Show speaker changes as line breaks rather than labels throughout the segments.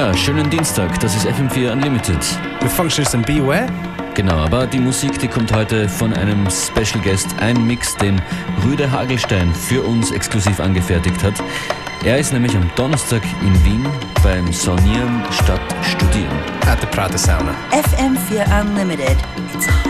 Ja, schönen Dienstag, das ist FM4 Unlimited.
With Functionist and Beware.
Genau, aber die Musik, die kommt heute von einem Special Guest, ein Mix, den Rüde Hagelstein für uns exklusiv angefertigt hat. Er ist nämlich am Donnerstag in Wien beim Saunieren statt Studieren.
At the Prater Sauna.
FM4 Unlimited. It's hot.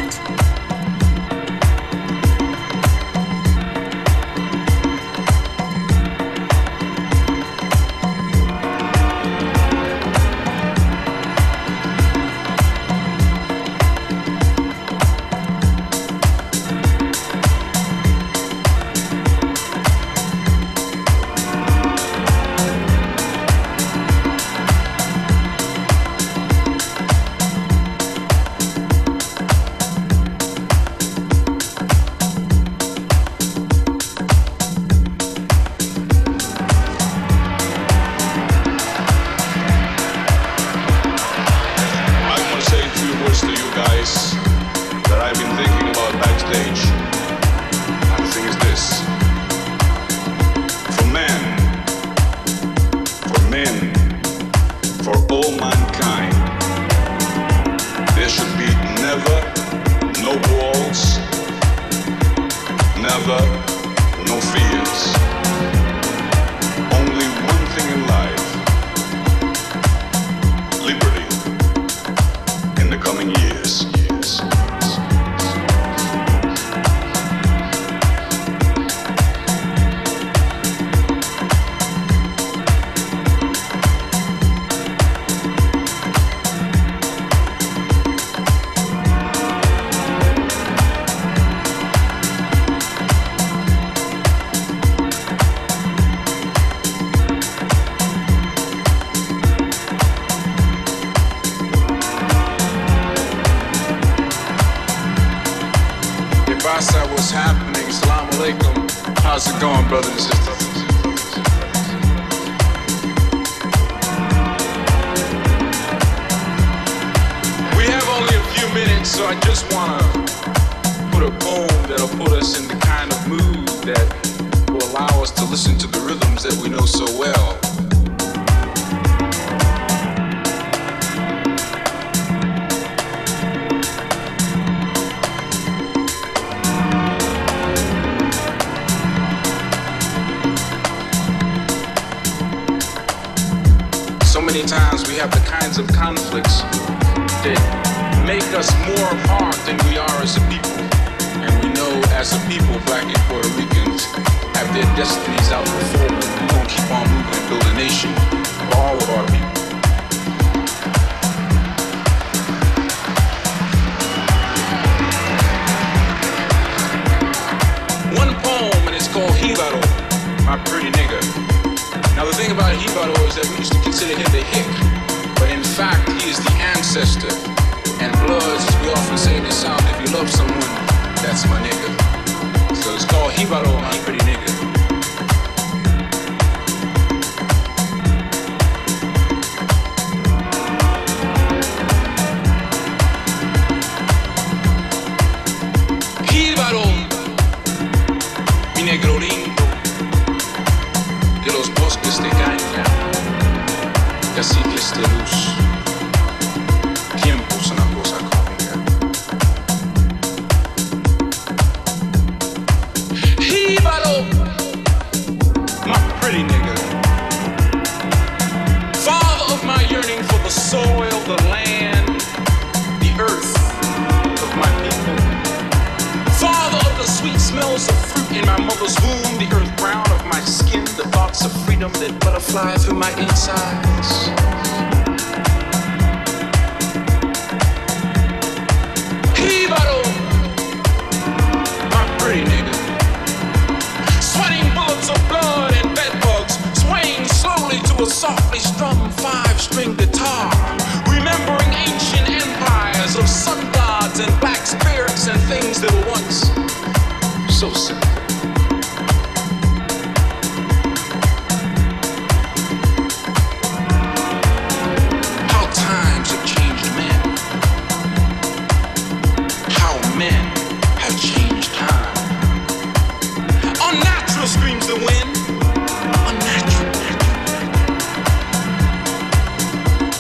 What's happening? Assalamu alaikum. How's it going, brothers and sisters? We have only a few minutes, so I just want to put a poem that'll put us in the kind of mood that will allow us to listen to the rhythms that we know so well. Many times we have the kinds of conflicts that make us more apart than we are as a people. And we know as a people, Black and Puerto Ricans have their destinies out before them. We're going to keep on moving and build a nation for all of our people. One poem, and it's called Hibaro, my pretty nigga. Now the thing about Hibaro is that we used to consider him the hick, but in fact he is the ancestor. And Bloods, as we often say in the South, if you love someone, that's my nigga. So it's called Hibaro, my pretty nigga. Hibaro, mi negro lindo. De los bosques de caña, caciques de luz, tiempos una cosa cómica. Hibaro, my pretty nigga, father of my yearning for the soil, the land, the earth of my people, father of the sweet smells of fruit in my mother's womb, the earth brown of my skin, the thoughts of freedom that butterfly through my insides. Hibaro, my pretty nigga, sweating bullets of blood and bedbugs, swaying slowly to a softly strummed 5-string guitar, remembering ancient empires of sun gods and black spirits and things that were once so simple. Screams the wind, unnatural.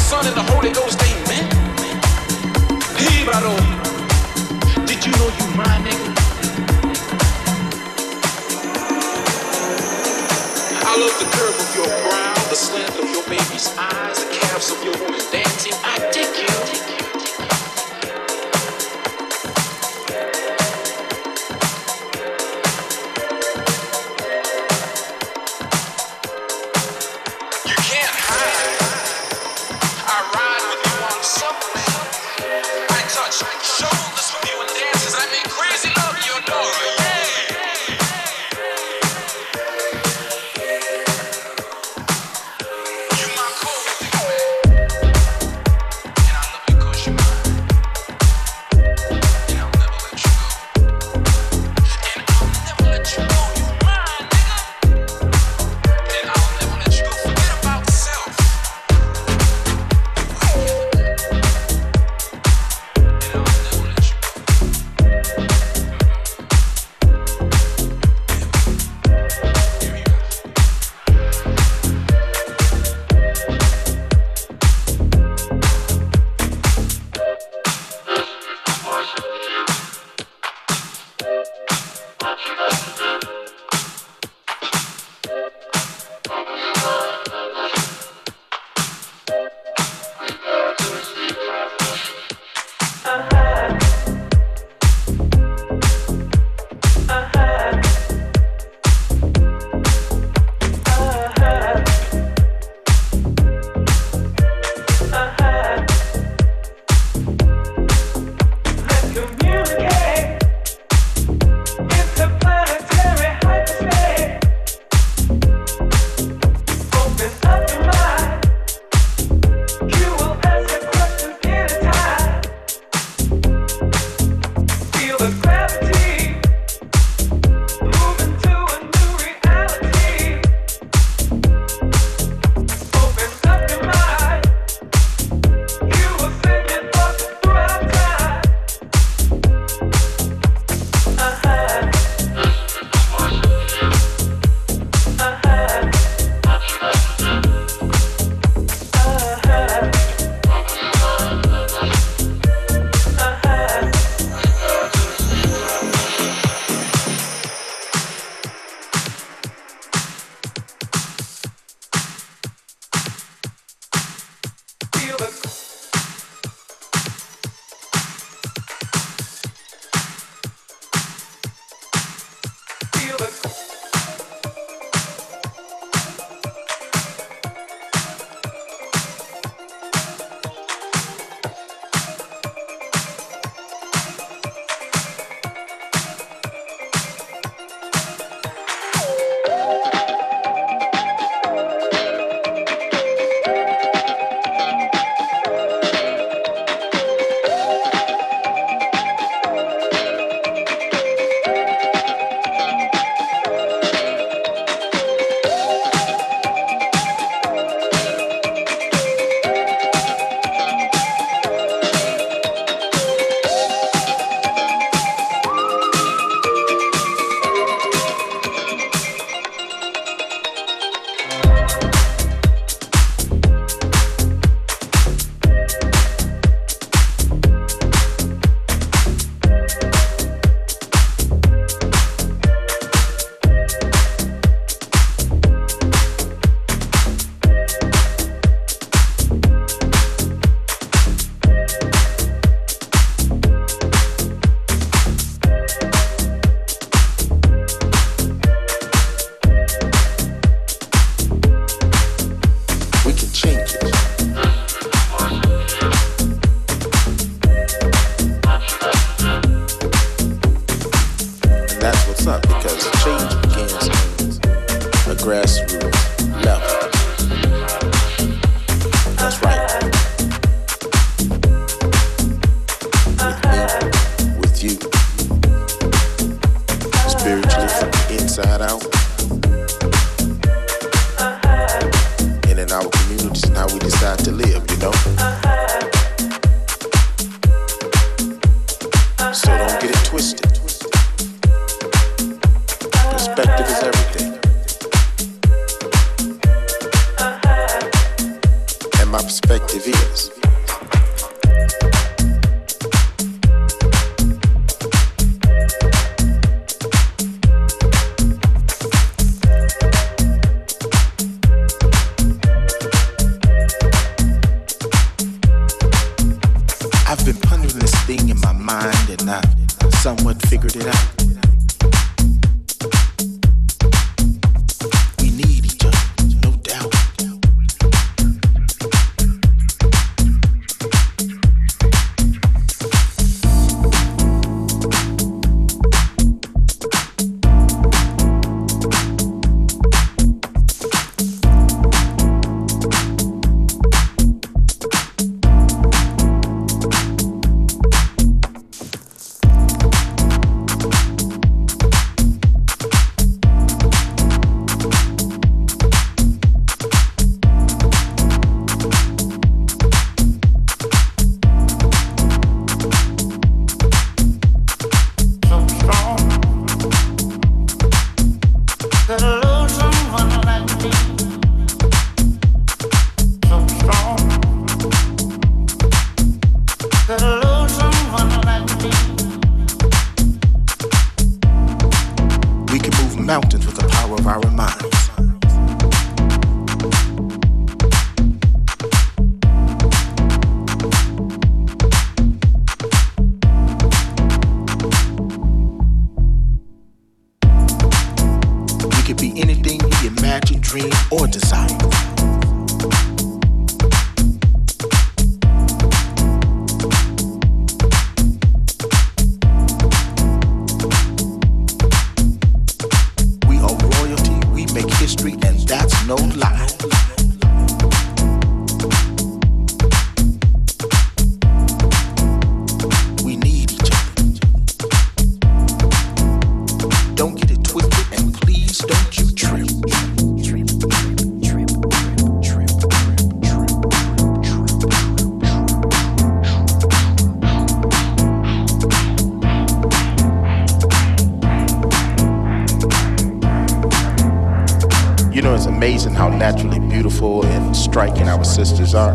Son, and the Holy Ghost, amen. Hibaro, did you know you my nigga? I love the curve of your brow, the slant of your baby's eyes, the calves of your woman dancing. I dig you.
grassroots level. That's right. With me, with you, spiritually from the inside out. And in our communities and how we decide to live, you know? So don't get it twisted. Perspective is everything. And my perspective is somewhat figured it out. We need each other, no doubt. Mountains with the power of our minds. We could be anything we imagine, dream, or desire. No lie. We need each other. Don't get it twisted, and please don't you trip. You know, it's amazing how naturally beautiful and striking our sisters are.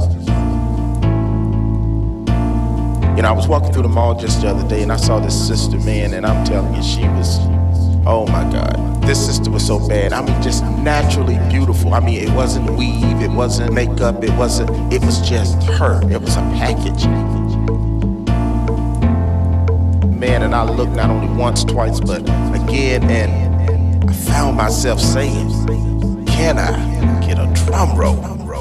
You know, I was walking through the mall just the other day and I saw this sister, man, and I'm telling you, she was, oh my God. This sister was so bad. I mean, just naturally beautiful. I mean, it wasn't weave, it wasn't makeup, it was just her. It was a package. Man, and I looked not only once, twice, but again, and I found myself saying, can I get a drum roll?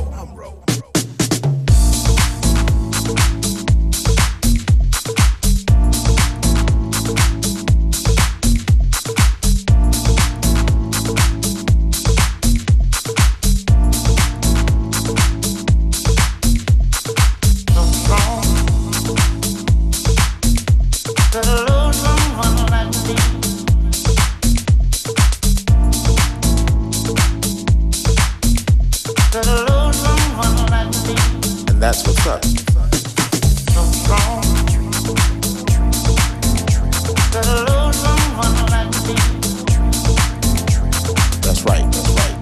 That's what's up. That's right, that's right.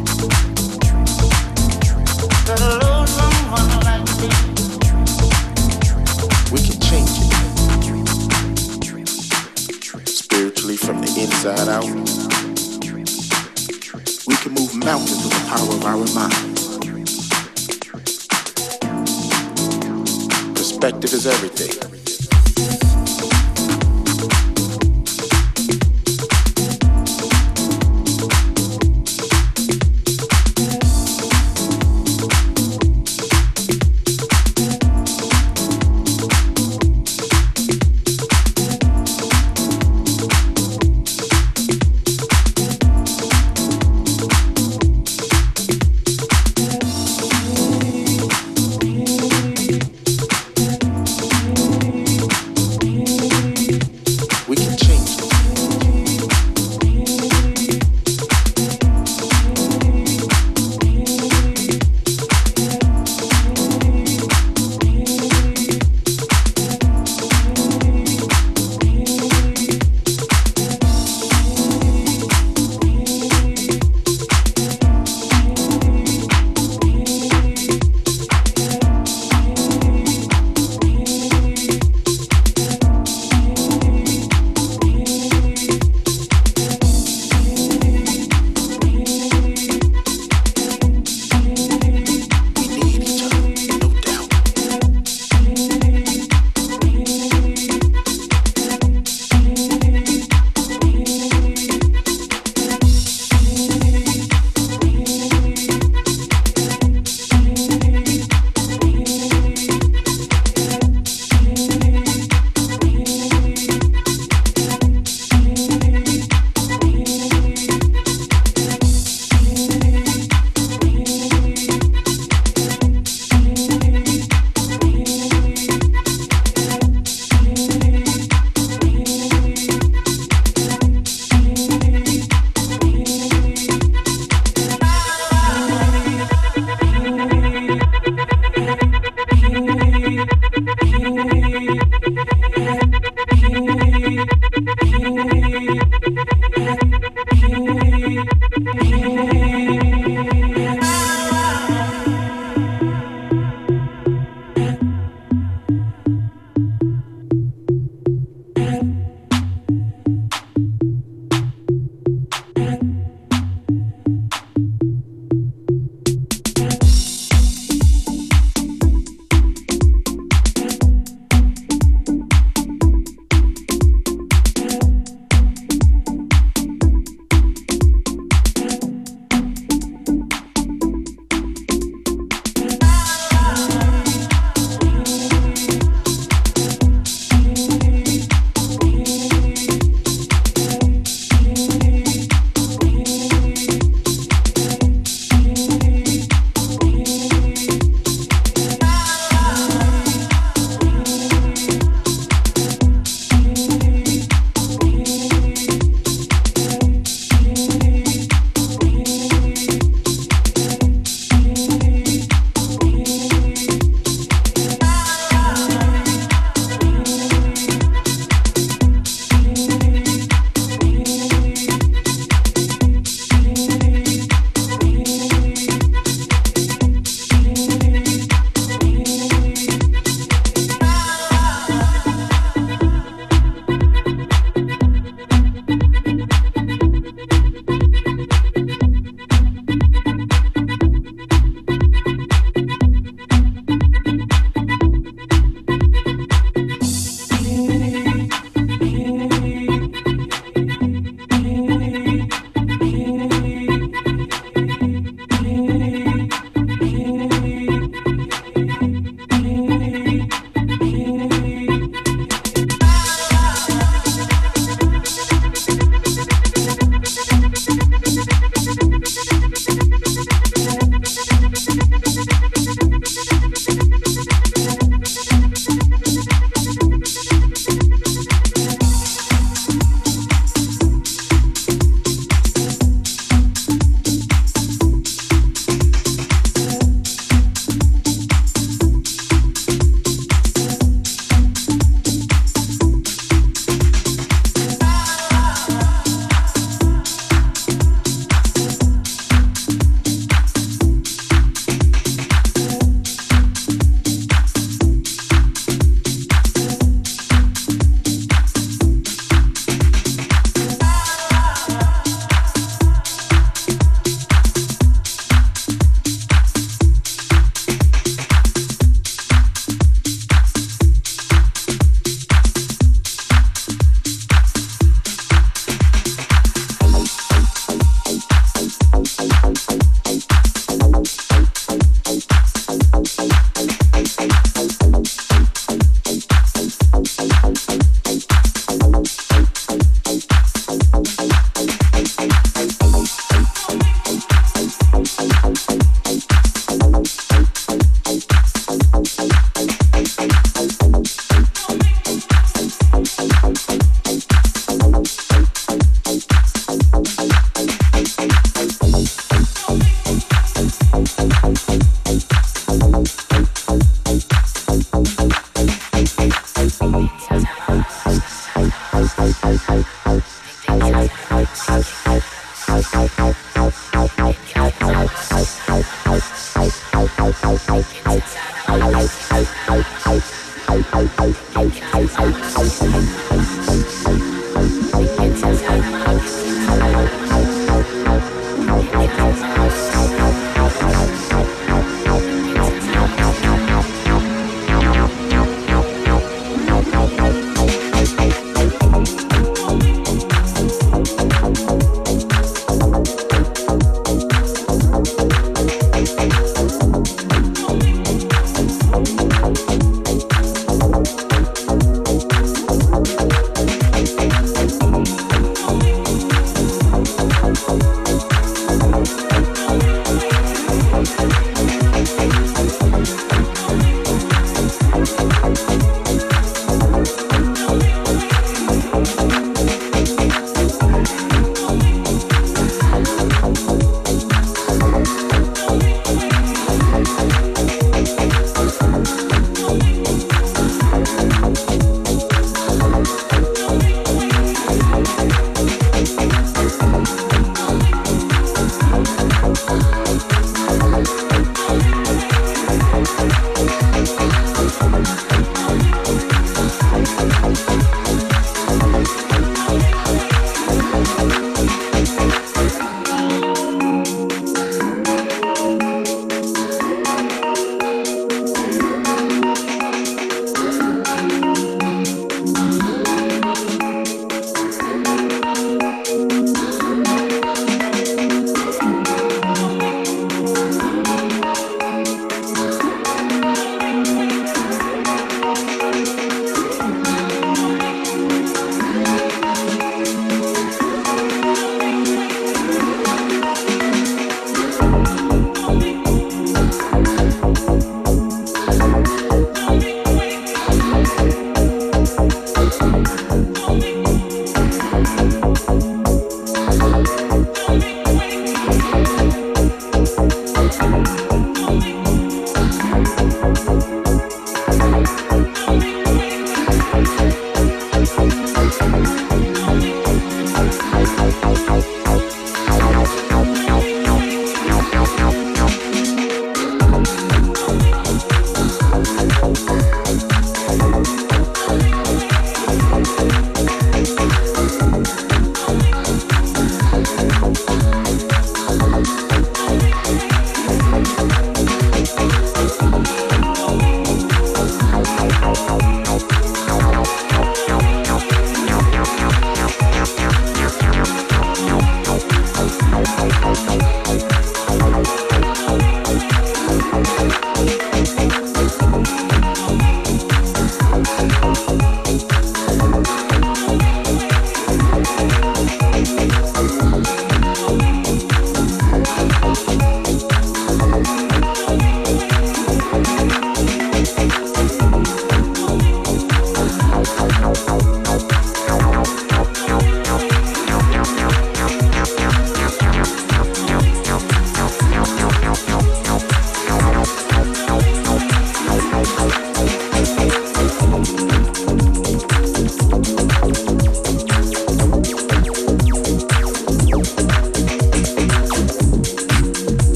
We can change it. Spiritually from the inside out. We can move mountains with the power of our mind. Perspective is everything.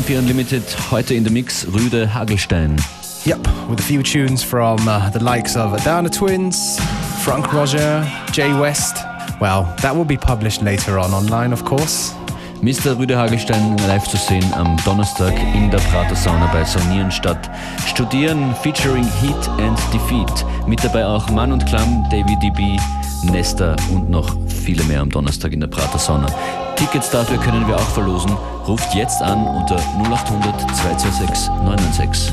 FM4 Unlimited, heute in the Mix Rüde Hagelstein.
Yep, with a few tunes from the likes of Adana Twins, Frank Roger, Jay West. Well, that will be published later on online, of course.
Mr. Rüde Hagelstein live zu sehen am Donnerstag in der Prater Sauna bei Saunieren statt Studieren featuring Heat and Defeat. Mit dabei auch Mann und Klamm, David DB, Nesta und noch viele mehr am Donnerstag in der Prater Sauna. Tickets dafür können wir auch verlosen. Ruft jetzt an unter 0800 226 996.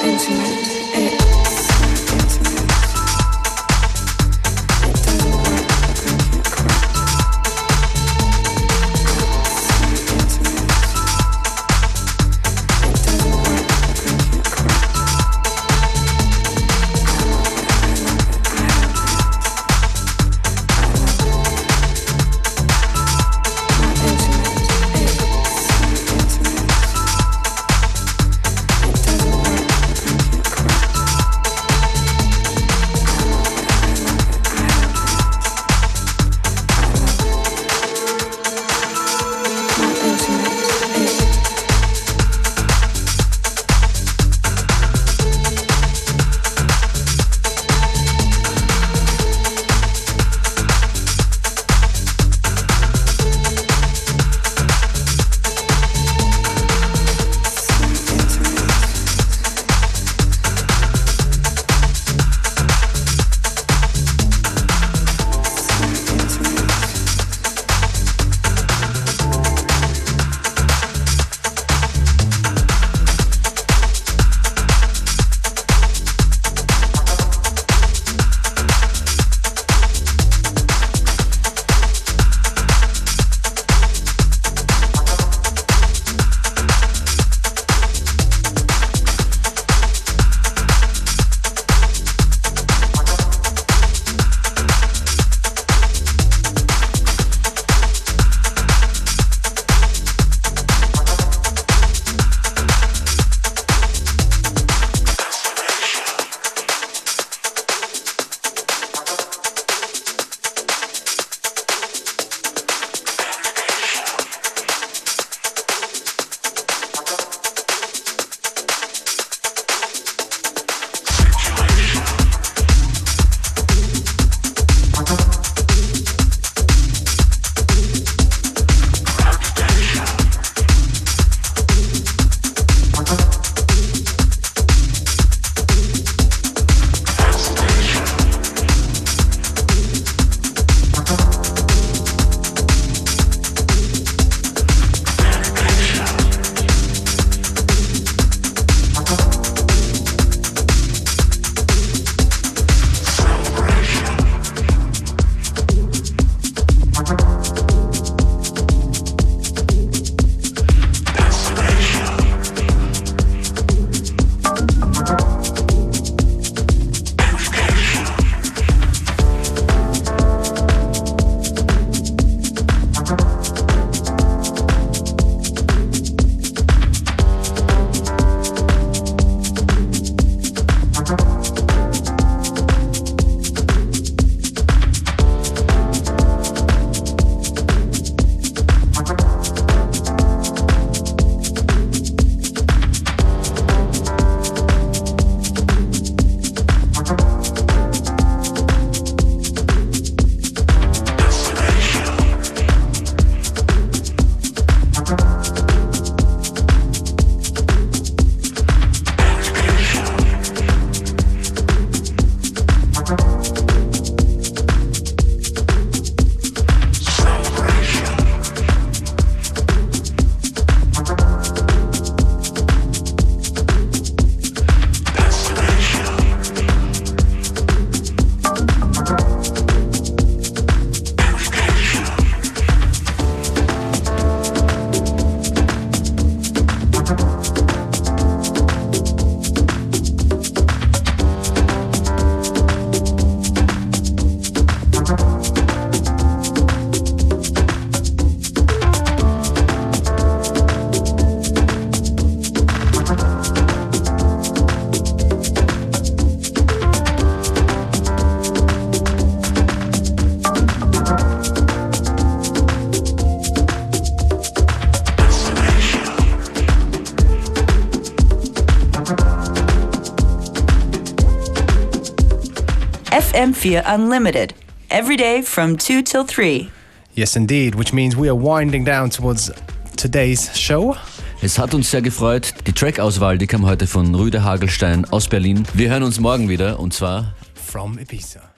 FM4 Unlimited, every day from 2 till 3.
Yes, indeed, which means we are winding down towards today's show.
Es hat uns sehr gefreut. Die Track-Auswahl, die kam heute von Rüde Hagelstein aus Berlin. Wir hören uns morgen wieder, und zwar
from Ibiza.